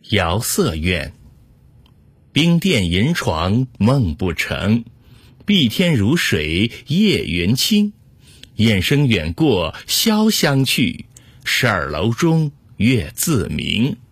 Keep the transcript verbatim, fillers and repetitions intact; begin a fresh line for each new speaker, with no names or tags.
遥色院。冰殿银床梦不成，碧天如水夜云轻。雁声远过潇湘去，十二楼中月自明。